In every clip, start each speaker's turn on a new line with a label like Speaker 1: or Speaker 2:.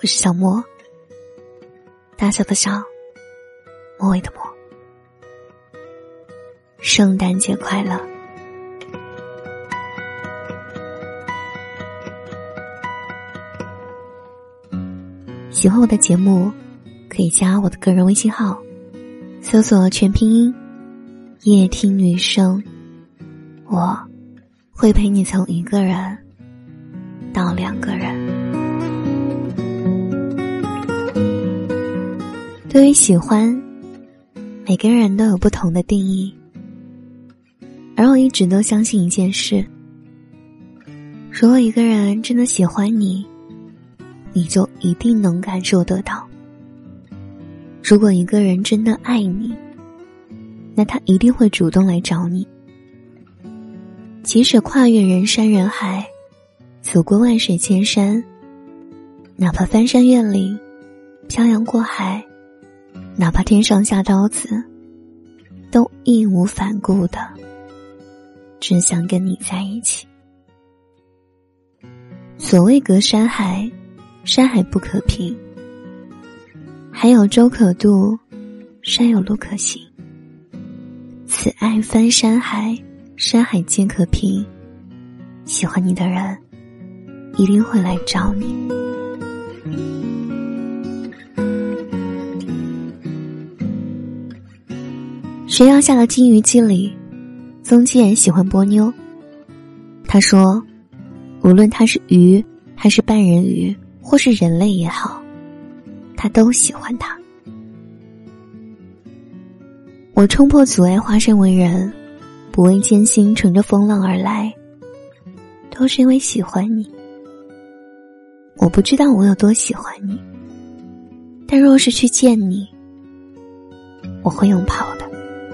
Speaker 1: 我是小莫，大小的小，末尾的末。圣诞节快乐！喜欢我的节目，可以加我的个人微信号，搜索全拼音夜听女生，我会陪你从一个人到2个人。对于喜欢，每个人都有不同的定义，而我一直都相信一件事，如果一个人真的喜欢你，你就一定能感受得到。如果一个人真的爱你，那他一定会主动来找你。即使跨越人山人海，走过万水千山，哪怕翻山越岭，漂洋过海，哪怕天上下刀子，都义无反顾的只想跟你在一起。所谓隔山海，山海不可平，海有舟可渡，山有路可行。此爱翻山海，山海皆可平，喜欢你的人一定会来找你。悬崖下的金鱼姬里，宗介喜欢波妞。他说，无论他是鱼还是半人鱼或是人类也好，他都喜欢他。我冲破阻碍化身为人，不畏艰辛乘着风浪而来，都是因为喜欢你。我不知道我有多喜欢你，但若是去见你，我会用跑的。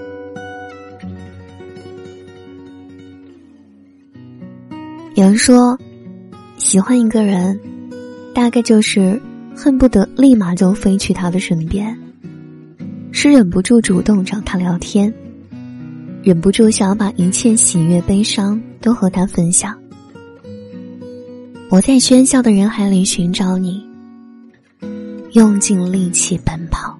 Speaker 1: 有人说，喜欢一个人，大概就是恨不得立马就飞去他的身边，是忍不住主动找他聊天，忍不住想要把一切喜悦悲伤都和他分享。我在喧嚣的人海里寻找你，用尽力气奔跑。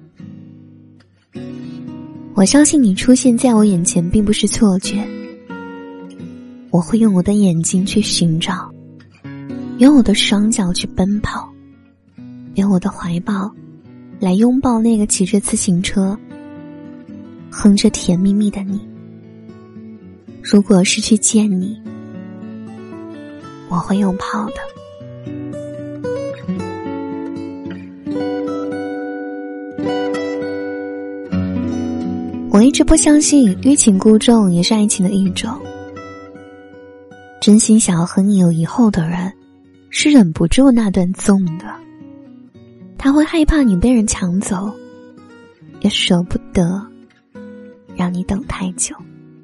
Speaker 1: 我相信你出现在我眼前并不是错觉，我会用我的眼睛去寻找，用我的双脚去奔跑，用我的怀抱来拥抱那个骑着自行车哼着甜蜜蜜的你。如果是去见你，我会用跑的。我一直不相信欲擒故纵也是爱情的一种，真心想要和你有以后的人是忍不住那段纵的，他会害怕你被人抢走，也舍不得让你等太久。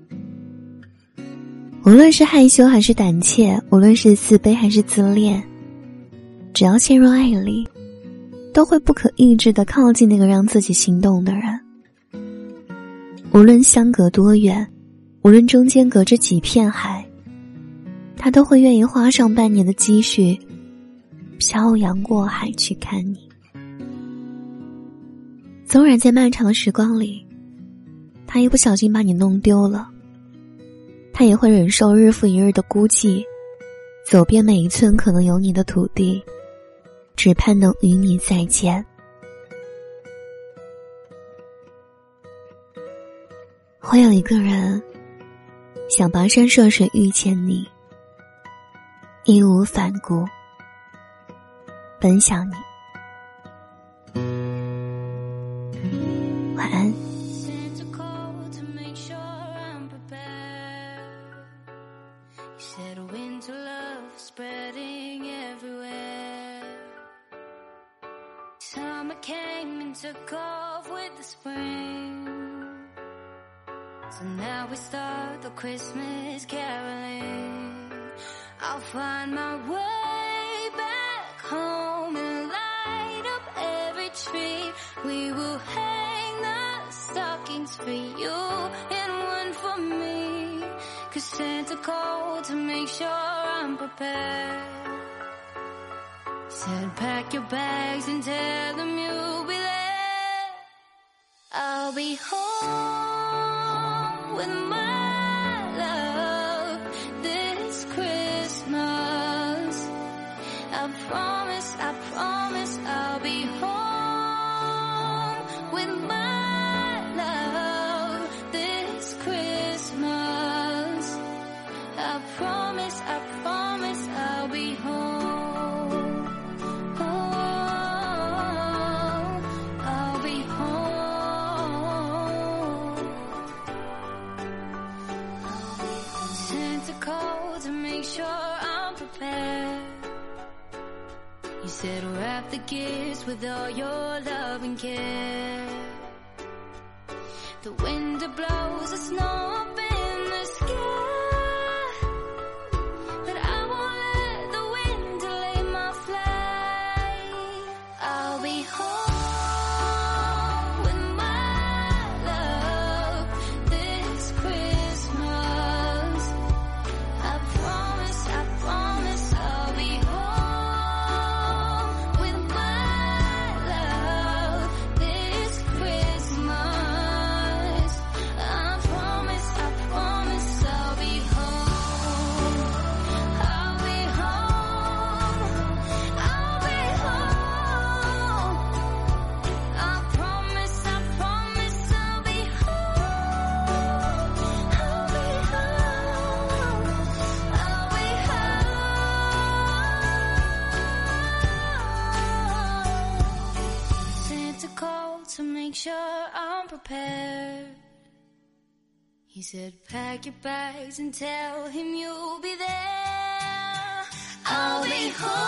Speaker 1: 无论是害羞还是胆怯，无论是自卑还是自恋，只要陷入爱里，都会不可抑制地靠近那个让自己心动的人。无论相隔多远，无论中间隔着几片海，他都会愿意花上半年的积蓄，漂洋过海去看你。纵然在漫长的时光里，他一不小心把你弄丢了，他也会忍受日复一日的孤寂，走遍每一寸可能有你的土地，只盼能与你再见。会有一个人想跋山涉水遇见你，义无反顾奔向你。晚安。
Speaker 2: Summer came and took off with the spring, so now we start the Christmas caroling. I'll find my way back home and light up every tree. We will hang the stockings for you and one for me, 'cause Santa called to make sure I'm prepared. said pack your bags and tell them you'll be there. I'll be home with my love this Christmas. I promise I'll be home with my love this Christmas. I promise I'll be home. Oh, I'll be home. Santa called to make sure I'm prepared. You said wrap the gifts with all your love and care. The wind blows the snow up in the sky, but I won't let the wind delay my flight. I'll be home with my love this Christmas. I promise I'll be home with my love this Christmas. I promise I'll be home. I'll be home. I'll be home. I promise I'll be home. I'll be home. I'll be home. Santa called to make sure I'm prepared. He said pack your bags and tell him you'll be there. I'll be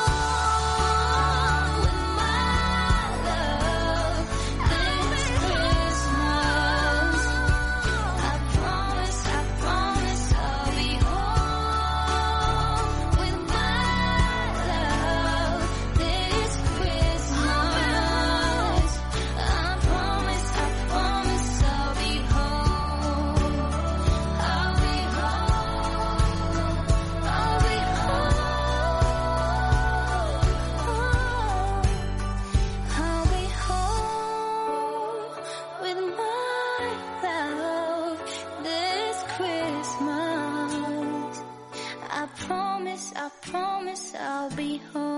Speaker 2: home with my love this Christmas. I promise I'll be home with my love this Christmas. I promise I'll be home. I'll be home. I'll be home. I'll be home with my love this Christmas. I promise I'll be home.